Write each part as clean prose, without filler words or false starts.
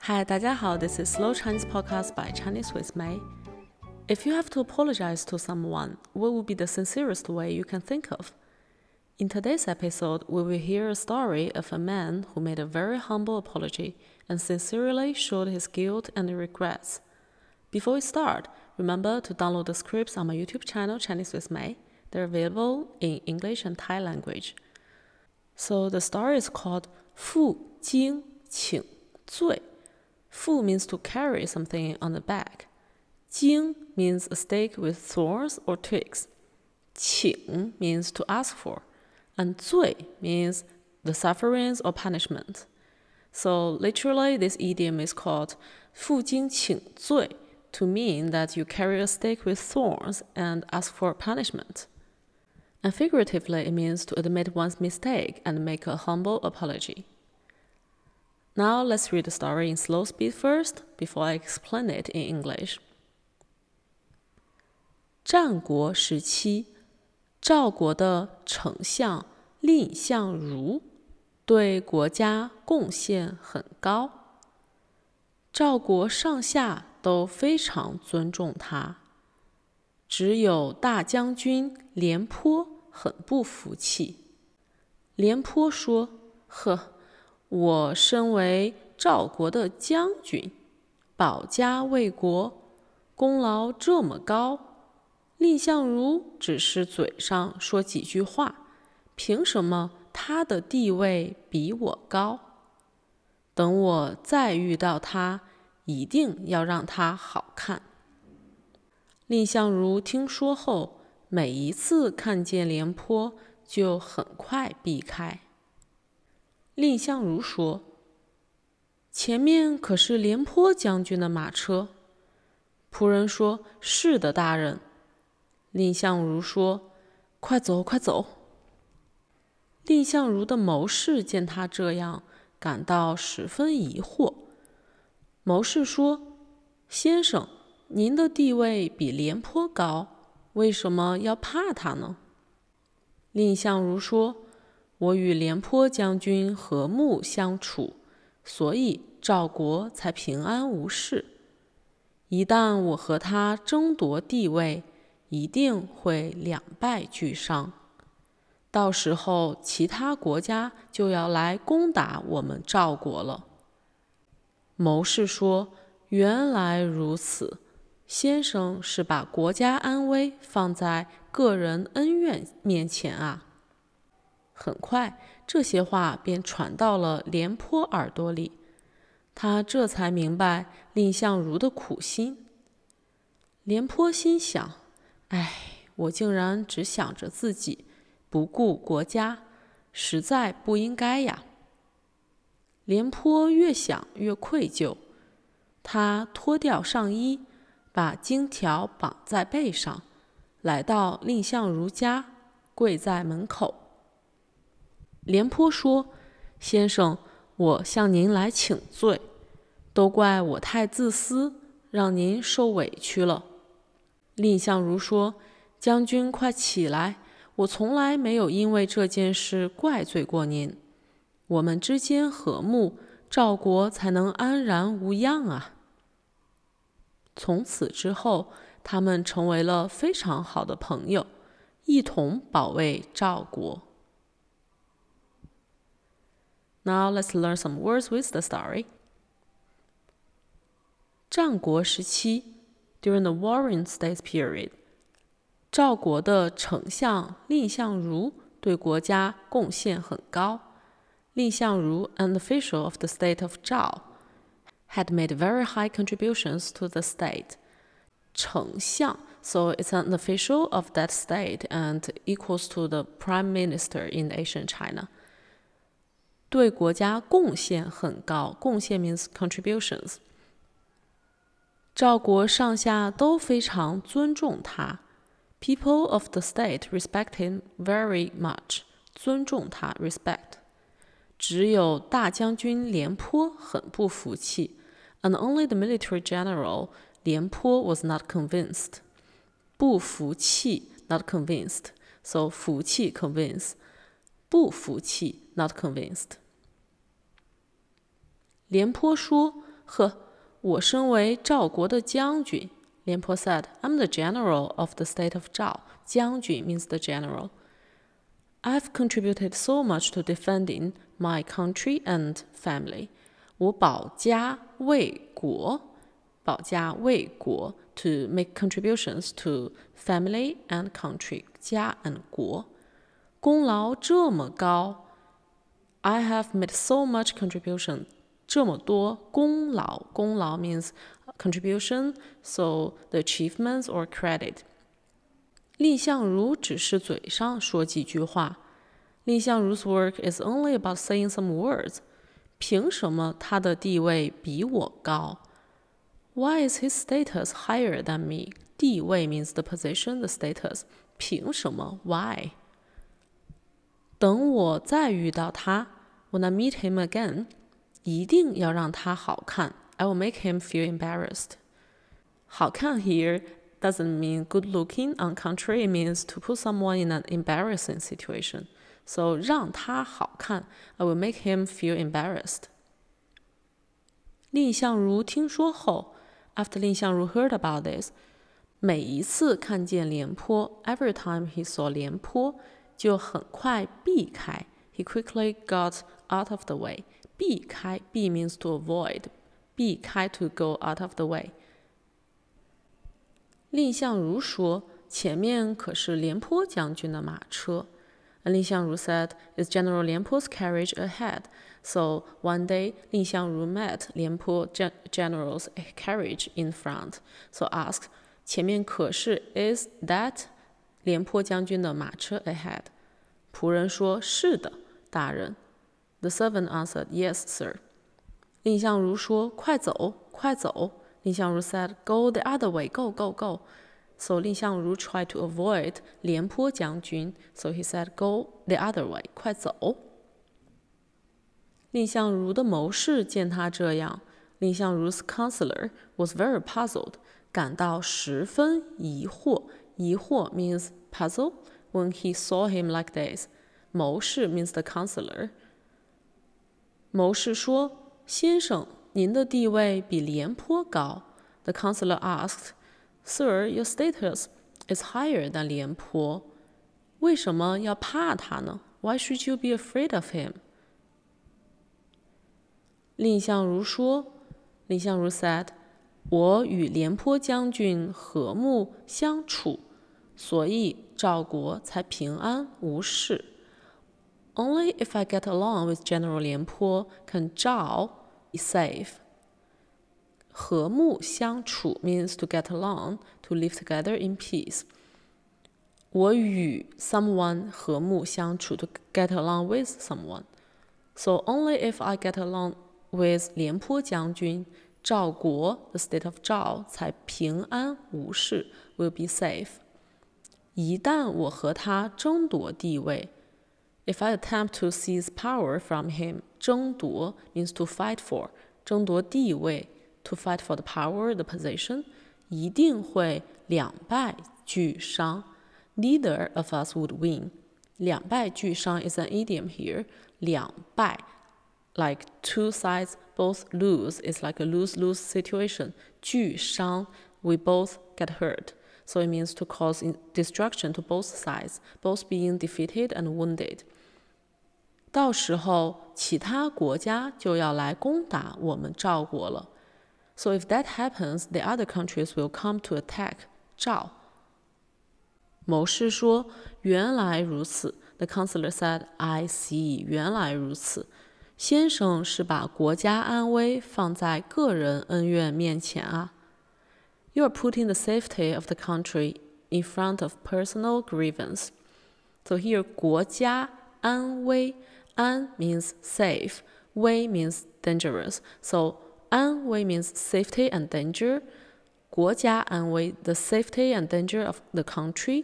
Hi, 大家好, this is Slow Chinese Podcast by Chinese with Mei. If you have to apologize to someone, what would be the sincerest way you can think of? In today's episode, we will hear a story of a man who made a very humble apology and sincerely showed his guilt and regrets. Before we start, remember to download the scripts on my YouTube channel, Chinese with Mei. They're available in English and Thai language. So the story is called 负荆请罪. 负 means to carry something on the back. 荆 means a stake with thorns or twigs. 请 means to ask for. And 罪 means the sufferings or punishment. So literally, this idiom is called 负荆请罪 to mean that you carry a stake with thorns and ask for punishment. And figuratively, it means to admit one's mistake and make a humble apology. Now let's read the story in slow speed first, before I explain it in English. 战国时期，赵国的丞相蔺相如对国家贡献很高，赵国上下都非常尊重他，只有大将军廉颇很不服气。廉颇说：“呵，我身为赵国的将军，保家卫国，功劳这么高，蔺相如只是嘴上说几句话，凭什么他的地位比我高？等我再遇到他，一定要让他好看。”蔺相如听说后，每一次看见廉颇就很快避开。蔺相如说：“前面可是廉颇将军的马车。”仆人说：“是的，大人。”蔺相如说：“快走，快走。”蔺相如的谋士见他这样，感到十分疑惑。谋士说：“先生，您的地位比廉颇高，为什么要怕他呢？”蔺相如说：“我与廉颇将军和睦相处，所以赵国才平安无事。一旦我和他争夺地位，一定会两败俱伤。到时候其他国家就要来攻打我们赵国了。”谋士说：“原来如此，先生是把国家安危放在个人恩怨面前啊。”很快，这些话便传到了廉颇耳朵里，他这才明白蔺相如的苦心。廉颇心想：“哎，我竟然只想着自己，不顾国家，实在不应该呀。”廉颇越想越愧疚，他脱掉上衣，把荆条绑在背上，来到蔺相如家，跪在门口。廉颇说：“先生，我向您来请罪，都怪我太自私，让您受委屈了。”蔺相如说：“将军快起来，我从来没有因为这件事怪罪过您。我们之间和睦，赵国才能安然无恙啊。”从此之后，他们成为了非常好的朋友，一同保卫赵国。Now let's learn some words with the story. 战国时期 ，during the warring state period, 赵国的丞相蔺相如对国家贡献很高。蔺相如, an official of the state of Zhao, had made very high contributions to the state. 丞相, so it's an official of that state and equals to the prime minister in ancient China. 对国家贡献很高，贡献 means contributions. 赵国上下都非常尊重他。People of the state respect him very much. 尊重他 respect. 只有大将军廉颇很不服气。And only the military general 廉颇 was not convinced. 不服气 not convinced. So 服气 convince. 不服气 not convinced. 廉颇说：“ 呵，我身为赵国的将军。廉颇 said, I'm the general of the state of Zhao. 将军 means the general. I've contributed so much to defending my country and family. 我保家卫国，保家卫国 to make contributions to family and country, 家 and 国。功劳这么高 I have made so much contribution, 这么多功劳，功劳 means contribution, so the achievements or credit. 蔺相如只是嘴上说几句话。蔺相如's work is only about saying some words. 凭什么他的地位比我高 ？Why is his status higher than me? 地位 means the position, the status. 凭什么 ？Why? 等我再遇到他 ，when I meet him again, 一定要让他好看。I will make him feel embarrassed. 好看 here doesn't mean good looking. On contrary, it means to put someone in an embarrassing situation. So 让他好看 I will make him feel embarrassed. 蔺相如听说后 after 蔺相如 heard about this, 每一次看见廉颇 every time he saw 廉颇就很快避开 he quickly got out of the way. 避开 避 means to avoid. 避开 to go out of the way. 蔺相如说前面可是廉颇将军的马车。And 蔺相如 said, it's General Lianpo's carriage ahead. So one day, 蔺相如 met 廉颇 general's carriage in front. So asked, 前面可是 is that 廉颇将军的马车 ahead? 仆人说是的，大人。The servant answered, yes, sir. 蔺相如说快走，快走。蔺相如 said, go the other way, go, go, go. So 蔺相如 tried to avoid 廉颇将军 So he said, go the other way, 快走。蔺相如的谋士见他这样，蔺相如's counselor was very puzzled, 感到十分疑惑。疑惑 means puzzle when he saw him like this. 谋士 means the counselor. 谋士说，先生，您的地位比廉颇高。The counselor asked, Sir, your status is higher than 廉颇。为什么要怕他呢？ Why should you be afraid of him? 蔺相如说，蔺相如 said, 我与廉颇将军和睦相处，所以赵国才平安无事。Only if I get along with General 廉颇 can 赵 be safe. 和睦相处 means to get along, to live together in peace. 我与 someone 和睦相处 to get along with someone. So only if I get along with 廉颇将军，赵国 the state of 赵才平安无事 will be safe. 一旦我和他争夺地位 If I attempt to seize power from him, 争夺 means to fight for, 争夺地位to fight for the power, the position, 一定会两败俱伤。Neither of us would win. 两败俱伤 is an idiom here. 两败 like two sides both lose is like a lose-lose situation. 俱伤 we both get hurt. So it means to cause destruction to both sides, both being defeated and wounded. 到时候其他国家就要来攻打我们赵国了。So if that happens, the other countries will come to attack 赵。谋士说，原来如此。The counselor said, I see, 原来如此。先生是把国家安危放在个人恩怨面前啊。You are putting the safety of the country in front of personal grievance. So here, 国家安危，安 means safe, 危 means dangerous. So 安危 means safety and danger. 国家安危 the safety and danger of the country.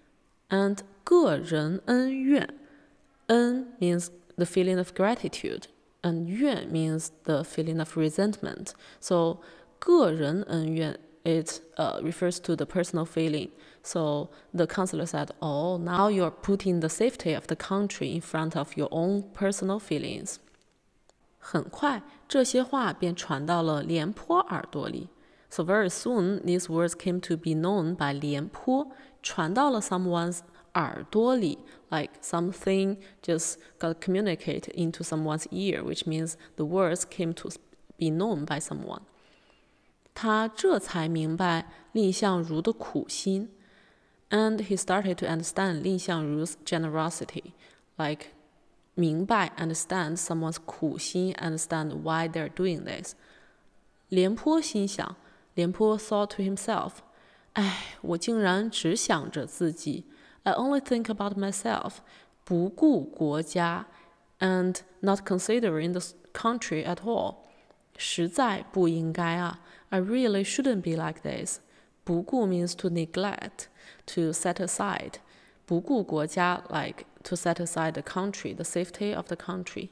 And 个人恩怨，恩 means the feeling of gratitude, and 怨 means the feeling of resentment. So 个人恩怨 it refers to the personal feeling. So the counselor said, oh, now you're putting the safety of the country in front of your own personal feelings. 很快，这些话便传到了廉颇耳朵里。So very soon, these words came to be known by 廉颇，传到了 someone's 耳朵里 ，like something just got communicated into someone's ear, which means the words came to be known by someone. 他这才明白蔺相如的苦心 ，and he started to understand 蔺相如's generosity, like 明白 understand someone's 苦心 understand why they're doing this. 廉颇心想，廉颇 thought to himself, 哎，我竟然只想着自己 I only think about myself, 不顾国家 and not considering the country at all. 实在不应该啊 I really shouldn't be like this. 不顾 means to neglect, to set aside. 不顾国家 like to set aside the country, the safety of the country.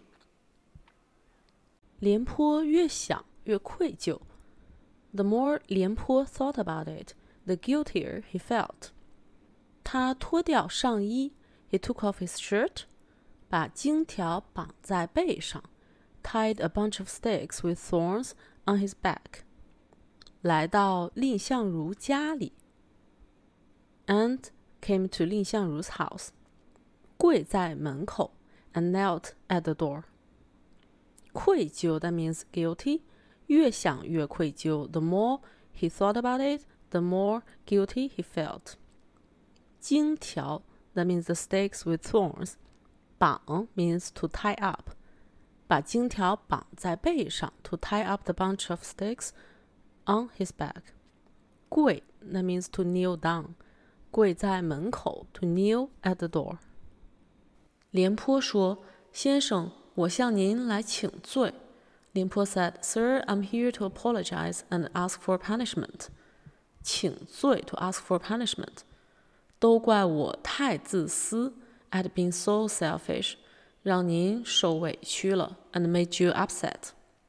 廉颇越想越愧疚 The more 廉颇 thought about it, the guiltier he felt. 他脱掉上衣 He took off his shirt, 把荆条绑在背上 Tied a bunch of sticks with thorns on his back. 来到蔺相如家里 And came to 蔺相如's house. 跪在门口 and knelt at the door. 愧疚 that means guilty. 越想越愧疚 The more he thought about it, the more guilty he felt. 荆条 that means the stakes with thorns. 绑 means to tie up. 把荆条绑在背上 to tie up the bunch of sticks on his back. 跪 that means to kneel down. 跪在门口 to kneel at the door. 廉颇说，先生，我向您来请罪。廉颇 said, Sir, I'm here to apologize and ask for punishment. 请罪 to ask for punishment. 都怪我太自私 I had been so selfish. 让您受委屈了 and made you upset.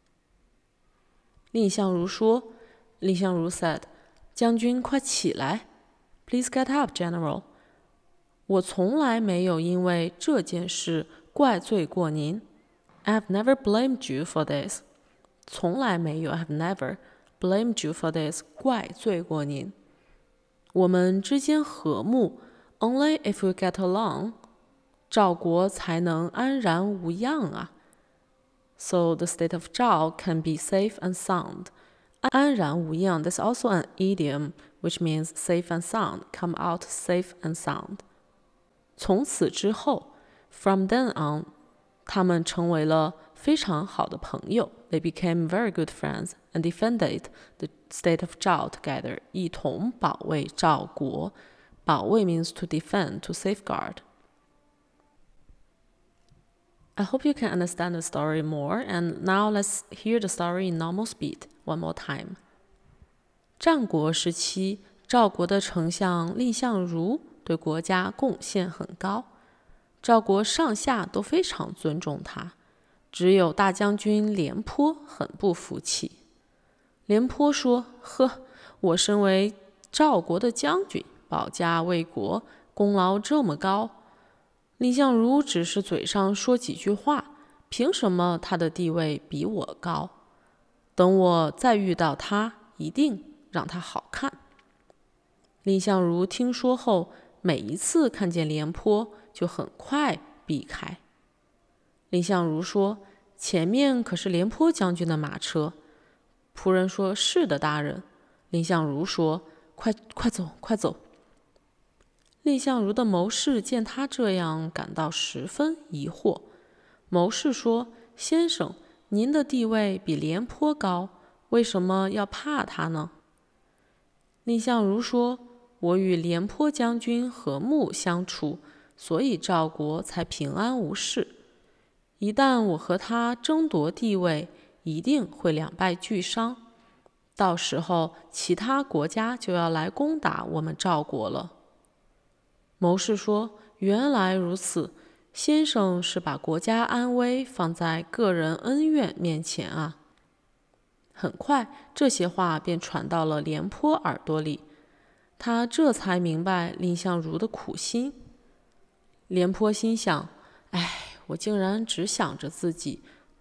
蔺相如说，蔺相如 said, 将军快起来 Please get up, General. 我从来没有因为这件事怪罪过您 I have never blamed you for this. 从来没有 I have never blamed you for this. 怪罪过您。我们之间和睦 Only if we get along. 赵国才能安然无恙啊 So the state of Zhao can be safe and sound. 安然无恙 That's also an idiom, which means safe and sound. Come out safe and sound. 从此之后 From then on, 他们成为了非常好的朋友 They became very good friends and defended the state of Zhao together. 一同保卫赵国。保卫 means to defend, to safeguard. I hope you can understand the story more, and now let's hear the story in normal speed one more time. 战国时期，赵国的丞相蔺相如对国家贡献很高，赵国上下都非常尊重他，只有大将军廉颇很不服气。廉颇说：“呵，我身为赵国的将军，保家卫国，功劳这么高。蔺相如只是嘴上说几句话，凭什么他的地位比我高？等我再遇到他，一定让他好看。”蔺相如听说后，每一次看见廉颇，就很快避开。蔺相如说：“前面可是廉颇将军的马车。”仆人说：“是的，大人。”蔺相如说：“快走，快走。”蔺相如的谋士见他这样，感到十分疑惑。谋士说：“先生，您的地位比廉颇高，为什么要怕他呢？”蔺相如说：“我与廉颇将军和睦相处，所以赵国才平安无事。一旦我和他争夺地位，一定会两败俱伤。到时候，其他国家就要来攻打我们赵国了。”谋士说：“原来如此，先生是把国家安危放在个人恩怨面前啊。”很快，这些话便传到了廉颇耳朵里，他这才明白蔺相如的苦心。廉颇心想：“哎，我竟然只想着自己，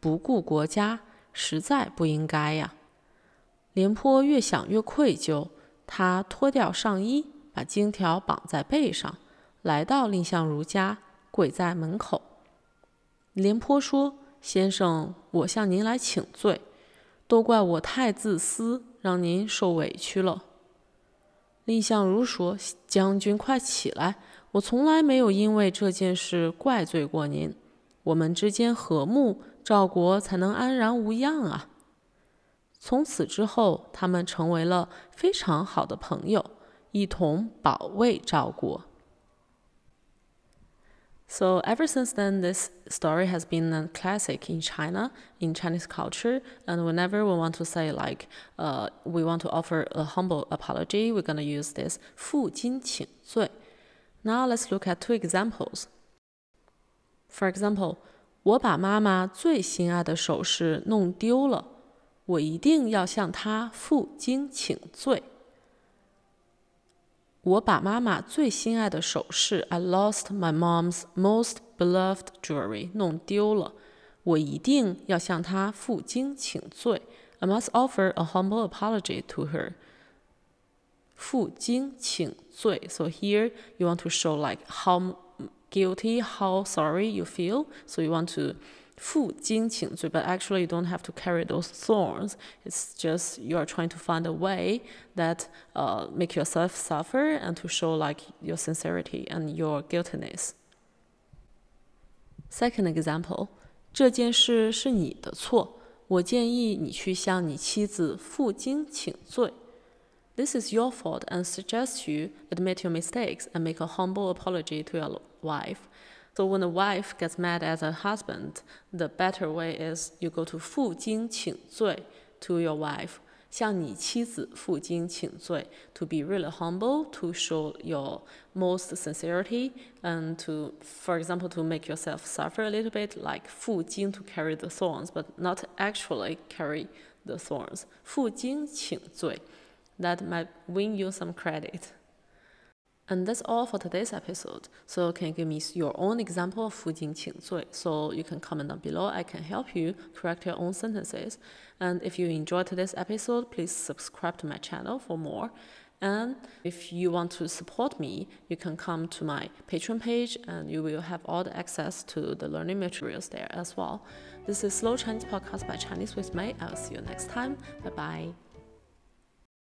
不顾国家，实在不应该呀。廉颇越想越愧疚，他脱掉上衣，把金条绑在背上，来到蔺相如家，跪在门口。廉颇说：“先生，我向您来请罪，都怪我太自私，让您受委屈了。”蔺相如说：“将军快起来，我从来没有因为这件事怪罪过您。我们之间和睦，赵国才能安然无恙啊。”从此之后，他们成为了非常好的朋友，一同保卫赵国。So ever since then, this story has been a classic in China, in Chinese culture. And whenever we want to say we want to offer a humble apology, we're going to use this 负荆请罪. Now let's look at two examples. For example, 我把妈妈最心爱的首饰弄丢了，我一定要向她负荆请罪。我把妈妈最心爱的首饰 I lost my mom's most beloved jewelry 弄丢了，我一定要向她负荆请罪。I must offer a humble apology to her. 负荆请罪 So here you want to show like how guilty, how sorry you feel. So you want to 负荆请罪 but actually you don't have to carry those thorns. It's just you are trying to find a way that make yourself suffer and to show like your sincerity and your guiltiness. Second example, 这件事是你的错，我建议你去向你妻子负荆请罪。This is your fault and suggest you admit your mistakes and make a humble apology to your wife. So when a wife gets mad at her husband, the better way is you go to 负荆请罪 to your wife. 向你妻子负荆请罪 to be really humble, to show your most sincerity, and to, for example, to make yourself suffer a little bit, like 负荆 to carry the thorns, but not actually carry the thorns. 负荆请罪. That might win you some credit. And that's all for today's episode. So can you give me your own example of 负荆请罪? So you can comment down below. I can help you correct your own sentences. And if you enjoyed today's episode, please subscribe to my channel for more. And if you want to support me, you can come to my Patreon page and you will have all the access to the learning materials there as well. This is Slow Chinese Podcast by Chinese with May. I'll see you next time. Bye bye.